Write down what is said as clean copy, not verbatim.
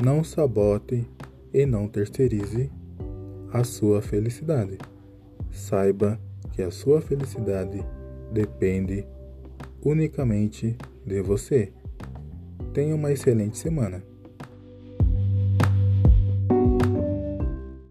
Não sabote e não terceirize a sua felicidade. Saiba que a sua felicidade depende unicamente de você. Tenha uma excelente semana.